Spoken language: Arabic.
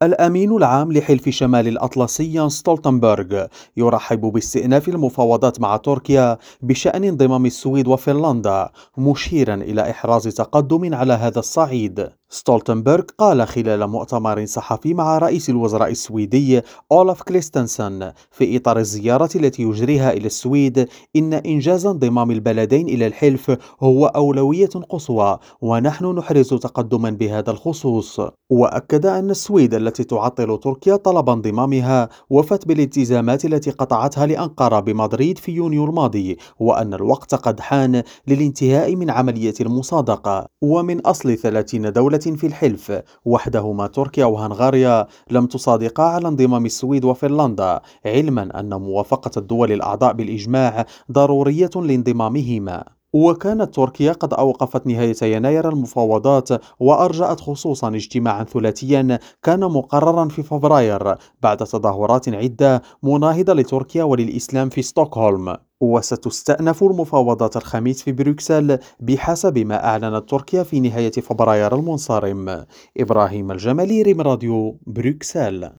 الأمين العام لحلف شمال الأطلسي يانس ستولتنبرغ يرحب باستئناف المفاوضات مع تركيا بشأن انضمام السويد وفنلندا، مشيرا إلى إحراز تقدم على هذا الصعيد. ستولتنبرغ قال خلال مؤتمر صحفي مع رئيس الوزراء السويدي أولاف كريستنسن في إطار الزيارة التي يجريها إلى السويد إن إنجاز انضمام البلدين إلى الحلف هو أولوية قصوى، ونحن نحرز تقدما بهذا الخصوص. وأكد أن السويد التي تعطل تركيا طلب انضمامها وفت بالالتزامات التي قطعتها لأنقرة بمدريد في يونيو الماضي، وأن الوقت قد حان للانتهاء من عملية المصادقة. ومن أصل 30 دولة في الحلف، وحدهما تركيا وهنغاريا لم تصادقا على انضمام السويد وفنلندا، علما أن موافقة الدول الأعضاء بالإجماع ضرورية لانضمامهما. وكانت تركيا قد أوقفت نهاية يناير المفاوضات، وأرجأت خصوصا اجتماعا ثلاثيا كان مقررا في فبراير بعد تظاهرات عدة مناهضة لتركيا وللإسلام في ستوكهولم. وستستأنف المفاوضات الخميس في بروكسل بحسب ما أعلنت تركيا في نهاية فبراير المنصرم. إبراهيم الجمالي، ريم راديو، بروكسل.